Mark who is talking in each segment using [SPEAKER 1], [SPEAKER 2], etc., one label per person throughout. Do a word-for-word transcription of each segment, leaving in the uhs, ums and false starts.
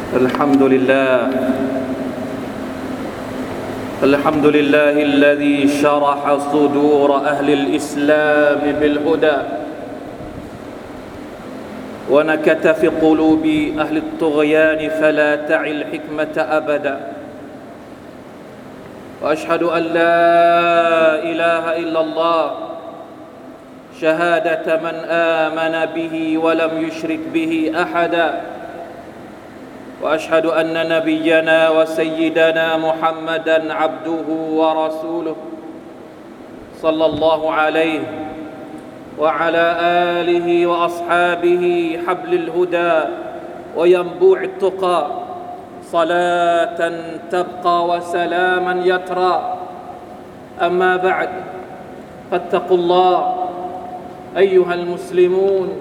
[SPEAKER 1] الحمد لله الحمد لله الذي شرح صدور أهل الإسلام بالهدى ونكت في قلوب أهل الطغيان فلا تعي الحكمة أبدا وأشهد أن لا إله إلا الله شهادة من آمن به ولم يشرك به أحدا وأشهد أن نبينا وسيدنا محمدا عبده ورسوله صلى الله عليه وعلى آله وأصحابه حبل الهدى وينبوع التقى صلاة تبقى وسلاما يترى أما بعد فاتقوا الله أيها المسلمون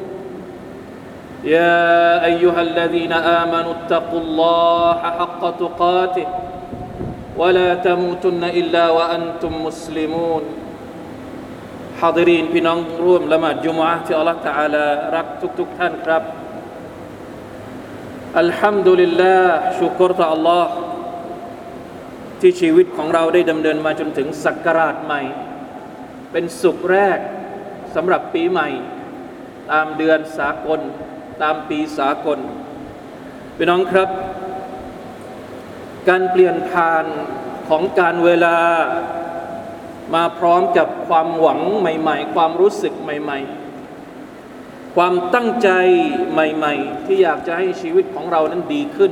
[SPEAKER 1] يا أيها الذين آمنوا اتقوا الله حق تقاته ولا تموتن إلا وأنتم مسلمون حاضرين พี่น้องร่วมละหมาดจุมอะห์ที่อัลเลาะห์ตะอาลารักทุกๆท่านครับอัลฮัมดุลิลลาห์ชุกรต่อ Allah ที่ชีวิตของเราได้ดำเนินมาจนถึงศักราชใหม่เป็นสุขแรกสำหรับปีใหม่ตามเดือนสากลตามปีสากลพี่น้องครับการเปลี่ยนผ่านของการเวลามาพร้อมกับความหวังใหม่ๆความรู้สึกใหม่ๆความตั้งใจใหม่ๆที่อยากจะให้ชีวิตของเรานั้นดีขึ้น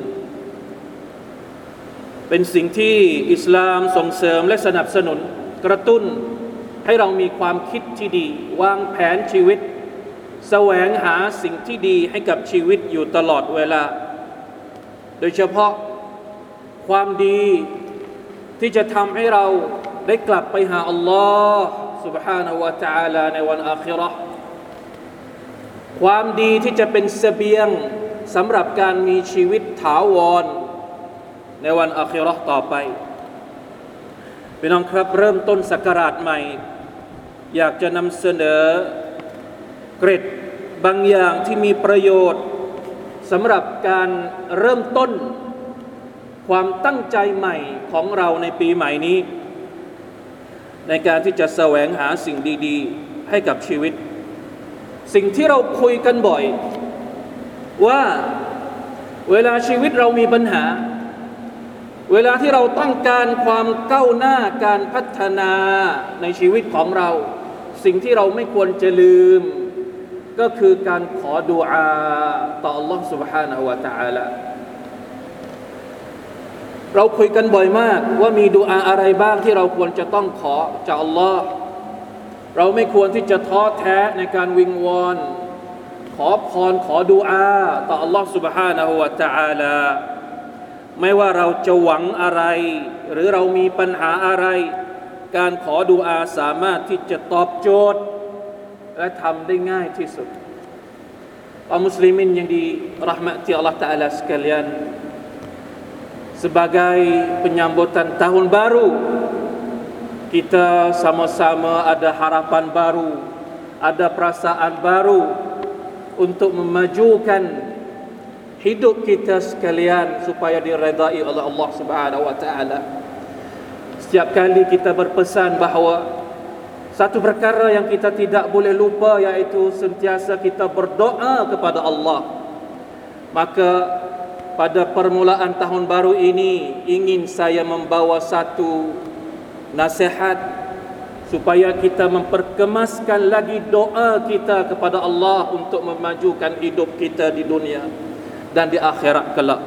[SPEAKER 1] เป็นสิ่งที่อิสลามส่งเสริมและสนับสนุนกระตุ้นให้เรามีความคิดที่ดีวางแผนชีวิตแสวงหาสิ่งที่ดีให้กับชีวิตอยู่ตลอดเวลาโดยเฉพาะความดีที่จะทำให้เราได้กลับไปหาอัลลอฮ์ سبحانه และ تعالى ในวันอาคิเราะห์ความดีที่จะเป็นเสบียงสำหรับการมีชีวิตถาวรในวันอาคิเราะห์ต่อไปพี่น้องครับเริ่มต้นศักราชใหม่อยากจะนำเสนอเกร็ดบางอย่างที่มีประโยชน์สำหรับการเริ่มต้นความตั้งใจใหม่ของเราในปีใหม่นี้ในการที่จะแสวงหาสิ่งดีๆให้กับชีวิตสิ่งที่เราคุยกันบ่อยว่าเวลาชีวิตเรามีปัญหาเวลาที่เราต้องการความก้าวหน้าการพัฒนาในชีวิตของเราสิ่งที่เราไม่ควรจะลืมก็คือการขอดุอาต่อ Allah سبحانه และ تعالى เราคุยกันบ่อยมากว่ามีดุอาอะไรบ้างที่เราควรจะต้องขอจาก Allah เราไม่ควรที่จะท้อแท้ในการวิงวอนขอพรขอดุอาต่อ Allah سبحانه และ تعالى ไม่ว่าเราจะหวังอะไรหรือเรามีปัญหาอะไรการขอดุอาสามารถที่จะตอบโจทย์และทำได้ง่ายที่สุดkaum muslimin yang dirahmati Allah Ta'ala sekalian sebagai penyambutan tahun baru kita sama-sama ada harapan baru ada perasaan baru untuk memajukan hidup kita sekalian supaya diredai oleh Allah Subhanahu wa taala. Setiap kali kita berpesan bahawa satu perkara yang kita tidak boleh lupa iaitu sentiasa kita berdoa kepada Allah. Maka pada permulaan tahun baru ini ingin saya membawa satu nasihat supaya kita memperkemaskan lagi doa kita kepada Allah untuk memajukan hidup kita di dunia dan di akhirat kelak.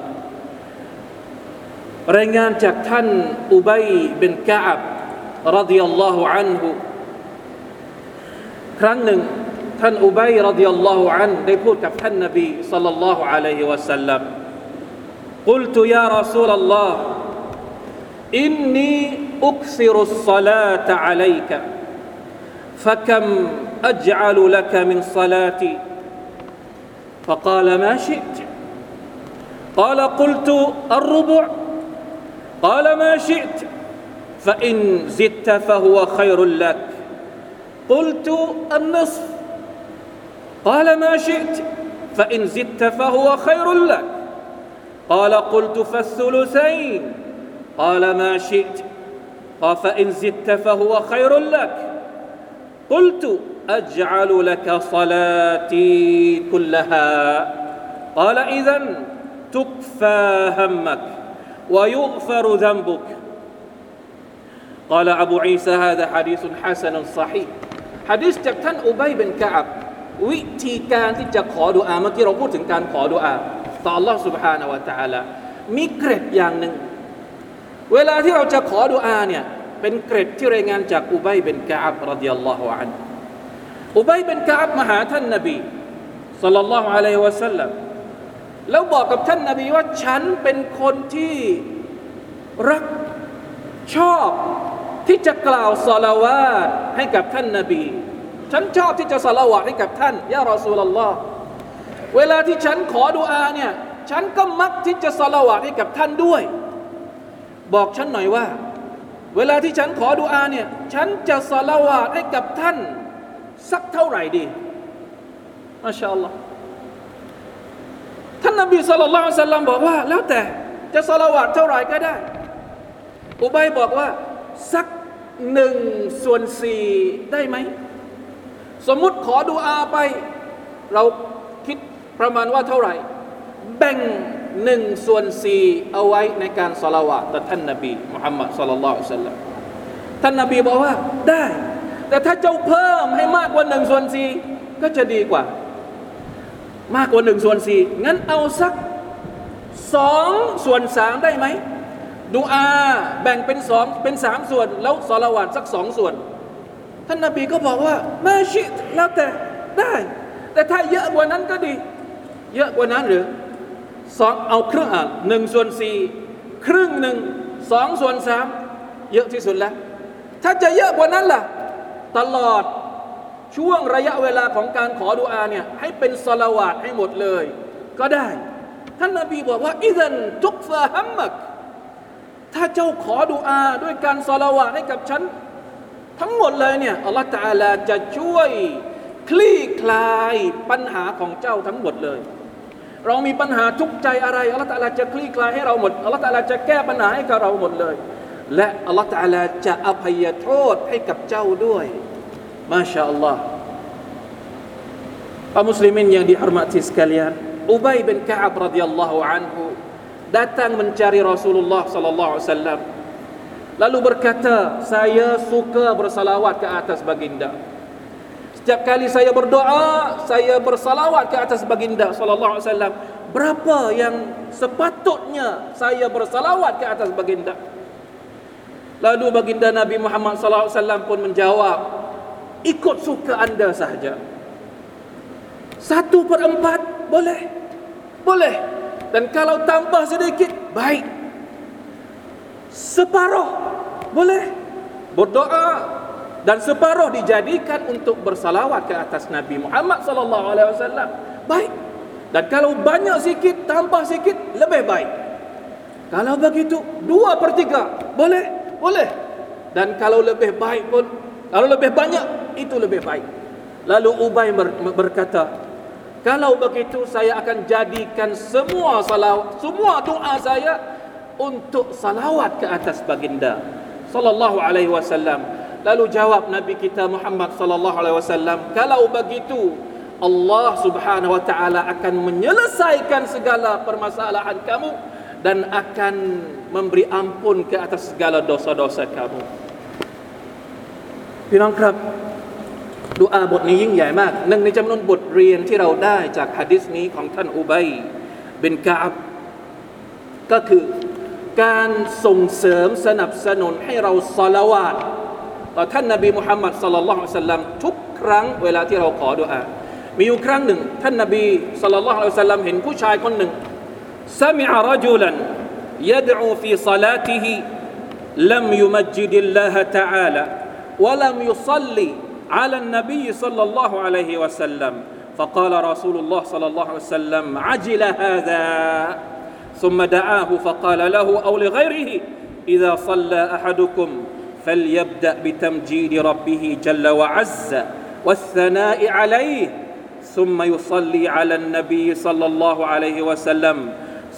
[SPEAKER 1] รายงานจากท่านอุบัยบินกะอับรอฎิยัลลอฮุอันฮุครั้งหนึ่งท่านอุบัยรอฎิยัลลอฮุอันฮุได้พูดกับท่านนบีศ็อลลัลลอฮุอะลัยฮิวะซัลลัม قلت يا رسول الله إني أكثر الصلاة عليك فكم أجعل لك من صلاتي فقال ما شئت قال قلت الربع قال ما شئت فإن زدت فهو خير لك قلت النصف قال ما شئت فإن زدت فهو خير لك قال قلت فالثلثين قال ما شئت قال فإن زدت فهو خير لك قلت أجعل لك صلاتي كلها قال إذن تكفى همك ويغفر ذنبك قال أبو عيسى هذا حديث حسن صحيح حديث จากท่านอุบัยบินกะอับวิธีการที่จะขอดุอาเมื่อกี้เราพูดถึงการขอดุอาต่อ Allah سبحانه และ تعالى มีเกร็ดอย่างหนึ่งเวลาที่เราจะขอดุอาเนี่ยเป็นเกร็ดที่รายงานจากอุบัยบินกะอับรดิยัลลอฮุอันฮุอุบัยบินกะอับมาหาท่านนบีศ็อลลัลลอฮุอะลัยฮิวะซัลลัมแล้วบอกกับท่านนบีว่าฉันเป็นคนที่รักชอบที่จะกล่าวศอลาวาตให้กับท่านนบีฉันชอบที่จะศอลาวาตให้กับท่านยารอซูลุลลอฮ์เวลาที่ฉันขอดุอาเนี่ยฉันก็มักที่จะศอลาวาตให้กับท่านด้วยบอกฉันหน่อยว่าเวลาที่ฉันขอดุอาเนี่ยฉันจะศอลาวาตให้กับท่านสักเท่าไหร่ดีมาชาอัลลอฮ์ท่านนบีศ็อลลัลลอฮุอะลัยฮิวะซัลลัมบอกว่าแล้วแต่จะศอลาวาตเท่าไหร่ก็ได้อุบัยบอกว่าสักหนึ่งส่วนสี่ได้ไหมสมมุติขอดุอาไปเราคิดประมาณว่าเท่าไหร่แบ่งหนึ่งส่วนสี่เอาไว้ในการศอลาวาตต่อท่านนบีมุฮัมมัดศ็อลลัลลอฮุอะลัยฮิวะซัลลัมท่านนบีบอกว่าได้แต่ถ้าเจ้าเพิ่มให้มากกว่าหนึ่งส่วนสี่ก็จะดีกว่ามากกว่าหนึ่งส่วนสี่งั้นเอาสักสองส่วนสามได้ไหมดุอาแบ่งเป็นสองเป็นสามส่วนแล้วศอลาวาตสักสองส่วนท่านนบีก็บอกว่ามาชิตแล้วแต่ได้แต่ถ้าเยอะกว่านั้นก็ดีเยอะกว่านั้นหรือสองเอาครึ่งอ่ะหนึ่งส่วนสี่ครึ่งหนึ่งสองส่วนสามเยอะที่สุดแล้วถ้าจะเยอะกว่านั้นล่ะตลอดช่วงระยะเวลาของการขอดุอาเนี่ยให้เป็นศอลาวาตให้หมดเลยก็ได้ท่านนบีบอกว่าอิซันทุกฟะฮัมมักถ้าเจ้าขอดุอาด้วยการศอลาวาตให้กับฉันทั้งหมดเลยเนี่ยอัลลอฮฺตะอาลาจะช่วยคลี่คลายปัญหาของเจ้าทั้งหมดเลยเรามีปัญหาทุกข์ใจอะไรอัลลอฮฺตะอาลาจะคลี่คลายให้เราหมดอัลลอฮฺตะอาลาจะแก้ปัญหาให้กับเราหมดเลยและอัลลอฮฺตะอาลาจะอภัยโทษให้กับเจ้าด้วยมาชาอัลลอฮ์kaum muslimin yang dihormati sekalian Ubay bin Ka'ab radhiyallahu anhu datang mencari Rasulullah sallallahu alaihi wasallam lalu berkata saya suka bersalawat ke atas baginda setiap kali saya berdoa saya bersalawat ke atas baginda sallallahu alaihi wasallam berapa yang sepatutnya saya bersalawat ke atas baginda lalu baginda Nabi Muhammad sallallahu alaihi wasallam pun menjawab ikut suka anda sahaja satu per empat boleh boleh dan kalau tambah sedikit baik separuh boleh berdoa dan separuh dijadikan untuk bersalawat ke atas Nabi Muhammad sallallahu alaihi wasallam baik dan kalau banyak sikit tambah sikit lebih baik kalau begitu dua per tiga boleh boleh dan kalau lebih baik pun kalau lebih banyak itu lebih baik lalu Ubay berkata kalau begitu saya akan jadikan semua salawat, semua doa saya untuk salawat ke atas baginda sallallahu alaihi wasallam. Lalu jawab Nabi kita Muhammad sallallahu alaihi wasallam, kalau begitu Allah Subhanahu wa taala akan menyelesaikan segala permasalahan kamu dan akan memberi ampun ke atas segala dosa-dosa kamu. พี่น้องครับดุอาบทนี้ยิ่งใหญ่มากหนึ่งในจำนวนบทเรียนที่เราได้จากหะดีษนี้ของท่านอุบัยบินกะอับก็คือการส่งเสริมสนับสนุนให้เราศอลาวาตต่อท่านนบีมุฮัมมัดศ็อลลัลลอฮุอะลัยฮิวะซัลลัมทุกครั้งเวลาที่เราขอดุอามีอยู่ครั้งหนึ่งท่านนบีศ็อลลัลลอฮุอะลัยฮิวะซัลลัมเห็นผู้ชายคนหนึ่งซะมิอะรจุลันยัดอูฟีศอลาติฮิลัมยุมัจญิดิลลาฮะตะอาลาวะลัมยุศ็อลลิعلى النبي صلى الله عليه وسلم فقال رسول الله صلى الله عليه وسلم عجل هذا ثم دعاه فقال له أو لغيره إذا صلى أحدكم فليبدأ بتمجيد ربه جل وعز والثناء عليه ثم يصلي على النبي صلى الله عليه وسلم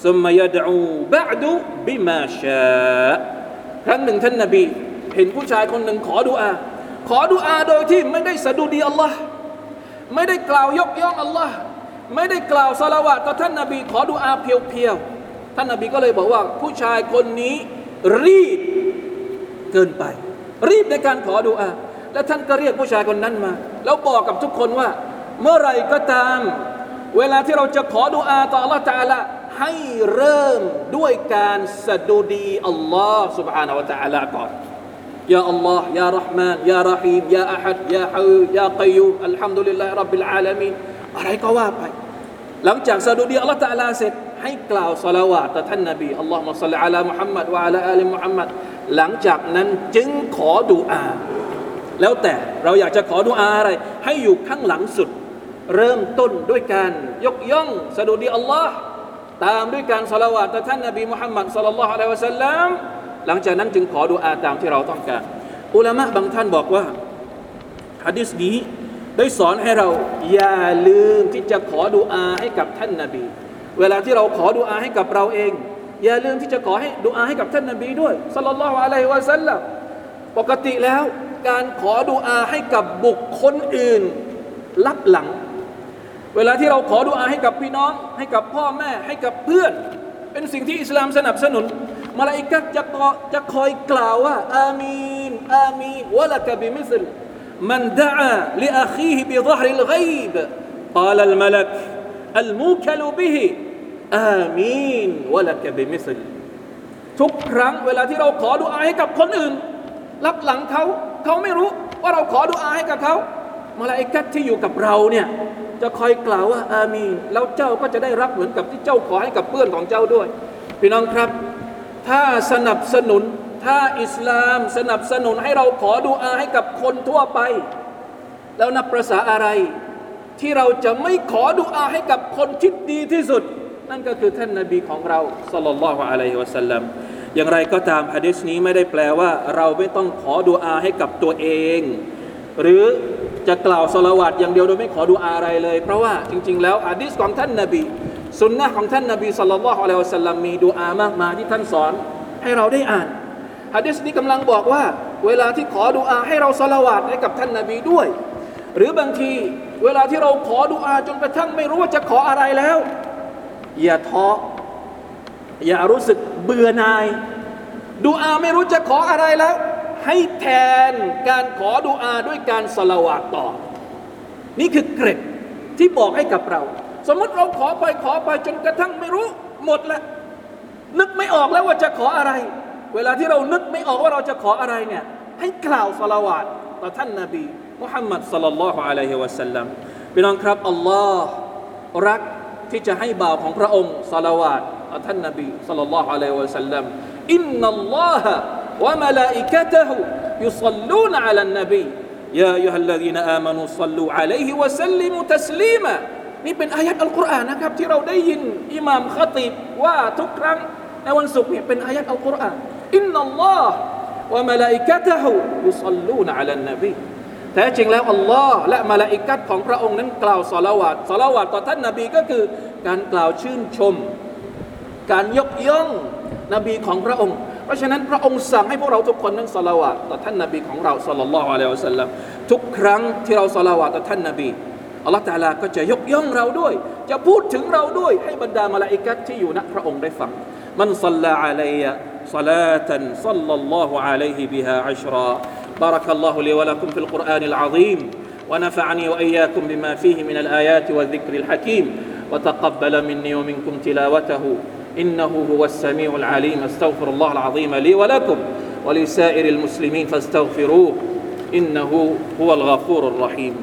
[SPEAKER 1] ซุมมายะดอูบะอ์ดุบิมาชาครั้งหนึ่งท่านนบีเห็นผู้ชายคนหนึ่งขอดุอาขอดุอาโดยที่ไม่ได้สะดุดีอัลลอฮ์ไม่ได้กล่าวยกย่องอัลลอฮ์ไม่ได้กล่าวศอลาวาตต่อท่านนบีขอดุอาเพียวๆท่านนบีก็เลยบอกว่าผู้ชายคนนี้รีบเกินไปรีบในการขอดุอาและท่านก็เรียกผู้ชายคนนั้นมาแล้วบอกกับทุกคนว่าเมื่อไรก็ตามเวลาที่เราจะขอดุอาต่ออัลลอฮฺตะอาลาให้เริ่มด้วยการสะดุดีอัลลอฮฺ سبحانه และ تعالى ก่อนยาอัลลอฮ์ยาเราะห์มานยาเราะฮีมยาอะฮัดยาฮูยากัยยูมอัลฮัมดุลิลลาฮิร็อบบิลอาลามีนอะไรก็ว่าไปหลังจากสะดุดีอัลลอฮฺตะอาลาเสร็จให้กล่าวศอลาวาตต่อท่านนบีอัลลอฮุมมะศ็อลลิอะลามุฮัมมัดวะอะลาอาลิมุฮัมมัดหลังจากนั้นจึงขอดุอาแล้วแต่เราอยากจะขอดุอาอะไรให้อยู่ข้างหลังสุดเริ่มต้นด้วยการยกย่องสะดุดีอัลลอฮ์ตามด้วยการศอลาวาตต่อท่านนบีมุฮัมมัดศ็อลลัลลอฮุอะลัยฮิวะซัลลัมหลังจากนั้นจึงขอดุอาตามที่เราต้องการอุลามะบางท่านบอกว่าหะดีษนี้ได้สอนให้เราอย่าลืมที่จะขอดุอาให้กับท่านนบีเวลาที่เราขอดุอาให้กับเราเองอย่าลืมที่จะขอให้ดุอาให้กับท่านนบีด้วยศ็อลลัลลอฮุอะลัยฮิวะซัลลัมปกติแล้วการขอดุอาให้กับบุคคลอื่นลับหลังเวลาที่เราขอดุอาให้กับพี่น้องให้กับพ่อแม่ให้กับเพื่อนเป็นสิ่งที่อิสลามสนับสนุนมลาอิกะฮ์จะจะคอยกล่าวว่าอามีนอามีนวะละกะบิมิสลมันดะอาลิอะคีฮิบิฎฮริลฆอยบกาลัลมะลักอัลมูคัลบิฮิอามีนวะละกะบิมิสลทุกครั้งเวลาที่เราขอดุอาให้กับคนอื่นลับหลังเขาเขาไม่รู้ว่าเราขอดุอาให้กับเขามลาอิกะฮ์ที่อยู่กับเราเนี่ยจะคอยกล่าวว่าอามีนแล้วเจ้าก็จะได้รับเหมือนกับที่เจ้าขอให้กับเพื่อนของเจ้าด้วยพี่น้องครับถ้าสนับสนุนถ้าอิสลามสนับสนุนให้เราขอดุอาให้กับคนทั่วไปแล้วนับประสาอะไรที่เราจะไม่ขอดุอาให้กับคนที่ดีที่สุดนั่นก็คือท่านนบีของเราศ็อลลัลลอฮุอะลัยฮิวะซัลลัมอย่างไรก็ตามหะดีษนี้ไม่ได้แปลว่าเราไม่ต้องขอดุอาให้กับตัวเองหรือจะกล่าวศอลาวาตอย่างเดียวโดยไม่ขอดุอาอะไรเลยเพราะว่าจริงๆแล้วหะดีษของท่านนบีสุนนะห์ของท่านนบีศ็อลลัลลอฮุอะลัยฮิวะซัลลัมมีดุอามากมายที่ท่านสอนให้เราได้อ่านหะดีษนี้กำลังบอกว่าเวลาที่ขอดุอาให้เราศอลาวาตให้กับท่านนบีด้วยหรือบางทีเวลาที่เราขอดุอาจนกระทั่งไม่รู้ว่าจะขออะไรแล้วอย่าท้ออย่ารู้สึกเบื่อหน่ายดุอาไม่รู้จะขออะไรแล้วให้แทนการขอดุอาด้วยการศอลาวาตต่อนี่คือเกร็ดที่บอกให้กับเราสมมติเราขอไปขอไปจนกระทั่งไม่รู้หมดแล้วนึกไม่ออกแล้วว่าจะขออะไรเวลาที่เรานึกไม่ออกว่าเราจะขออะไรเนี่ยให้กล่าวศอลาวาตต่อท่านนบีมุฮัมมัดศ็อลลัลลอฮุอะลัยฮิวะซัลลัมพี่น้องครับอัลลอฮ์รักที่จะให้บ่าวของพระองค์ศอลาวาตต่อท่านนบีศ็อลลัลลอฮุอะลัยฮิวะซัลลัมอินนัลลอฮะวะมะลาอิกะตุฮุยุศ็อลลูนอะลันนบียาอัยยูฮัลลซีนอามานูศ็อลลูอะลัยฮิวะซัลลิมุตัสลีมานี่เป็นอายะห์อัลกุรอานนะครับที่เราได้ยินอิหม่ามคอตีบว่าทุกครั้งในวันศุกร์เนี่ยเป็นอายะห์อัลกุรอานอินนัลลอฮะวะมะลาอิกะตุฮุยุศ็อลลูนอะลันนบีแท้จริงแล้วอัลลอฮ์และมลาอิกะฮ์ของพระองค์นั้นกล่าวศอลาวาตศอลาวาตต่อท่านนบีก็คือการกล่าวชื่นชมการยกย่องนบีของพระองค์เพราะฉะนั้นพระองค์สั่งให้พวกเราทุกคนนั้นศอลาวาตต่อท่านนบีของเราศ็อลลัลลอฮุอะลัยฮิวะซัลลัมทุกครั้งที่เราศอลาวาตต่อท่านนบีอัลลอฮ์ตะอาลาก็จะยกย่องเราด้วยจะพูดถึงเราด้วยให้บรรดามลาอิกะฮ์ที่อยู่ณพระองค์ได้ฟังมันศ็อลลาอะลัยยะศอลาตันศ็อลลัลลอฮุอะลัยฮิบิฮาอัชราبارك الله لي ولكم في القرآن العظيم ونفعني وإياكم بما فيه من الآيات والذكر الحكيم وتقبل مني ومنكم تلاوته إنه هو السميع العليم استغفر الله العظيم لي ولكم ولسائر المسلمين فاستغفروه إنه هو الغفور الرحيم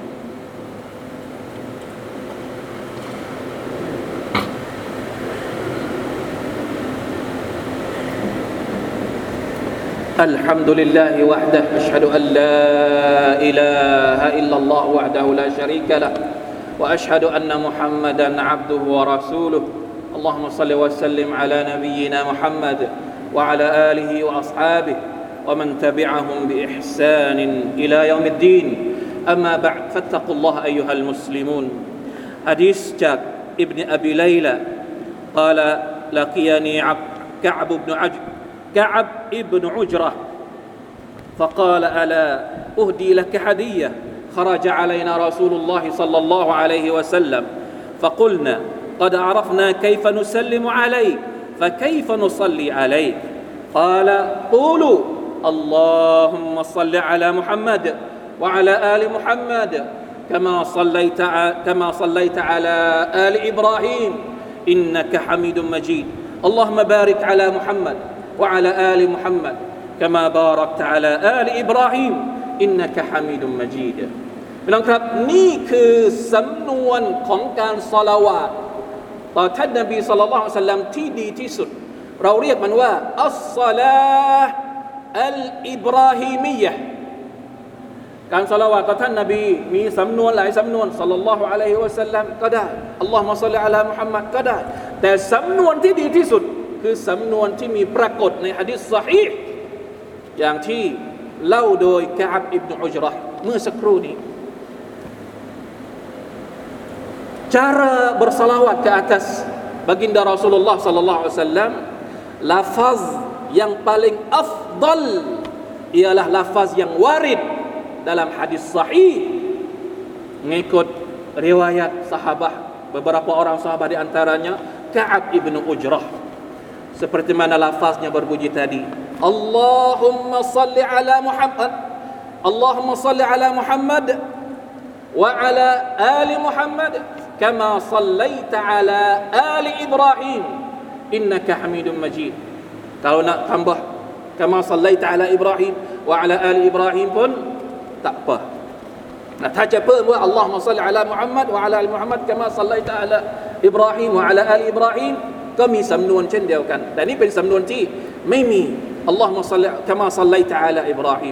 [SPEAKER 1] الحمد لله وحده أشهد أن لا إله إلا الله وحده لا شريك له وأشهد أن محمدا عبده ورسوله اللهم صل وسلم على نبينا محمد وعلى آله وأصحابه ومن تبعهم بإحسان إلى يوم الدين أما بعد فاتقوا الله أيها المسلمون حديث جاك ابن أبي ليلى قال لقيني كعب بن عج كعب ابن عجرة فقال ألا أهدي لك هدية خرج علينا رسول الله صلى الله عليه وسلم فقلنا قد عرفنا كيف نسلم عليك فكيف نصلي عليك قال قولوا اللهم صل على محمد وعلى آل محمد كما صليت كما صليت على آل إبراهيم إنك حميد مجيد اللهم بارك على محمد وعلى آل محمد كما باركت على آل إبراهيم إنك حميد مجيد พี่น้องครับนี่คือสำนวนของการศอลาวาตต่อท่านนบีศ็อลลัลลอฮุอะลัยฮิวะซัลลัมที่ดีที่สุดเราเรียกมันว่าอัสศอลาห์อัลอิบราฮีมียะห์การศอลาวาตต่อท่านนบีมีสำนวนหลายสำนวนศ็อลลัลลอฮุอะลัยฮิวะซัลลัมก็ได้อัลลอฮุมะศ็อลลิอะลามุฮัมมัดก็ได้แต่สำนวนที่ดีที่สุดคือสำนวนที่มีปรากฏในหะดีษซอฮีห์อย่างที่เล่าโดยกะอับอิบนุอุจเราะห์เมื่อสักครู่นี้cara bersalawat ke atas baginda Rasulullah sallallahu alaihi wasallam lafaz yang paling afdal ialah lafaz yang warid dalam hadis sahih mengikut riwayat sahabat beberapa orang sahabat di antaranya Ka'ab ibnu Ujrah seperti mana lafaznya berbunyi tadi Allahumma salli ala Muhammad Allahumma salli ala Muhammad wa ala ali Muhammad كما صليت على آل إبراهيم إنك حميد مجيد kalau nak tambah كما صليت على إبراهيم وعلى آل إبراهيم pun tak apa nah ถ้าจะเพิ่มว่า اللهم صل على محمد وعلى آل محمد كما صليت على إبراهيم وعلى آل إبراهيم ก็มีสำนวนเช่นเดียวกันแต่นี่เป็นสำนวนที่ไม่มี اللهم صل كما صليت على إبراهيم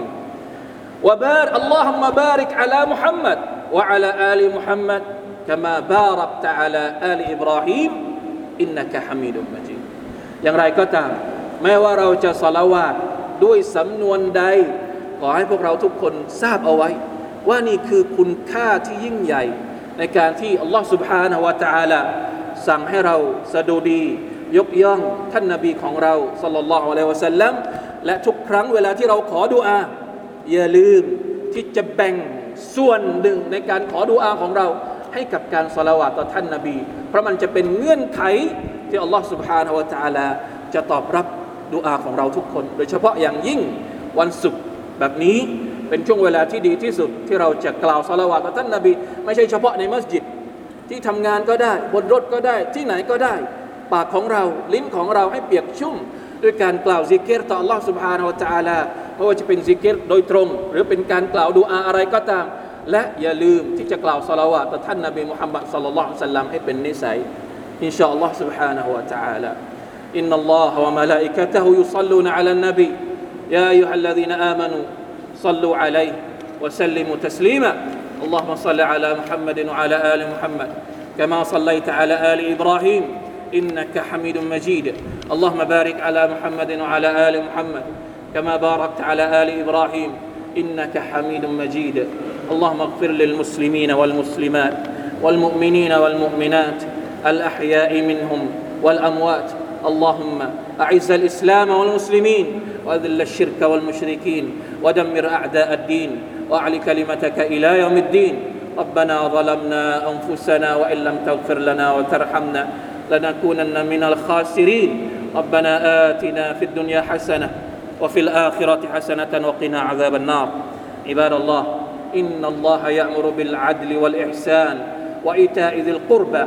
[SPEAKER 1] وبارك اللهم بارك على محمد وعلى آل محمد كما باركت على آل إبراهيم إنك حميد مجيد อย่างไรก็ตามแม้ว่าเราจะศอลาวาตด้วยสำนวนใดขอให้พวกเราทุกคนทราบเอาไว้ว่านี่คือคุณค่าที่ยิ่งใหญ่ในการที่อัลลอฮฺ سبحانه และ تعالى สั่งให้เราสดุดียกย่องท่านนบีของเราศ็อลลัลลอฮุอะลัยฮิวะซัลลัมและทุกครั้งเวลาที่เราขอดุอาอย่าลืมที่จะแบ่งส่วนหนึ่งในการขอดุอาของเราให้กับการศอลาวาตต่อท่านนบีเพราะมันจะเป็นเงื่อนไขที่อัลลอฮฺ سبحانه และ تعالى จะตอบรับดุอาของเราทุกคนโดยเฉพาะอย่างยิ่งวันศุกร์แบบนี้เป็นช่วงเวลาที่ดีที่สุดที่เราจะกล่าวศอลาวาตต่อท่านนบีไม่ใช่เฉพาะในมัสยิดที่ทำงานก็ได้บนรถก็ได้ที่ไหนก็ได้ปากของเราลิ้นของเราให้เปียกชุ่มด้วยการกล่าวซิกรต่ออัลลอฮฺ سبحانه และ تعالى ไม่ว่าจะเป็นซิกรโดยตรงหรือเป็นการกล่าวดุอาอะไรก็ตามและอย่าลืมที่จะกล่าวศอลาวาตต่อท่านนบีมุฮัมมัดศ็อลลัลลอฮุอะลัยฮิวะซัลลัมให้เป็นนิสัยอินชาอัลลอฮ์ سبحانه และ تعالى إن الله وملائكته يصلون على النبي يا أيها الذين آمنوا صلوا عليه وسلموا تسليما اللهم صل على محمد وعلى آل محمد كما صليت على آل إبراهيم إنك حميد مجيد اللهم بارك على محمد وعلى آل محمد كما باركت على آل إبراهيم إنك حميد مجيد اللهم اغفر للمسلمين والمسلمات والمؤمنين والمؤمنات الأحياء منهم والأموات اللهم أعز الإسلام والمسلمين وأذل الشرك والمشركين ودمر أعداء الدين وأعل كلمتك إلى يوم الدين ربنا ظلمنا أنفسنا وإن لم تغفر لنا وترحمنا لنكونن من الخاسرين ربنا آتنا في الدنيا حسنة وفي الآخرة حسنة وقنا عذاب النار عباد الله إن الله يأمر بالعدل والإحسان وإيتاء ذي القربى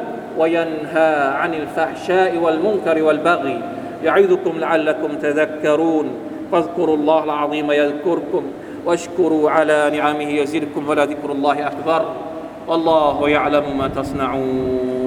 [SPEAKER 1] وينهى عن الفحشاء والمنكر والبغي يعظكم لعلكم تذكرون فاذكروا الله العظيم يذكركم واشكروا على نعمه يزدكم ولذكر الله أكبر والله يعلم ما تصنعون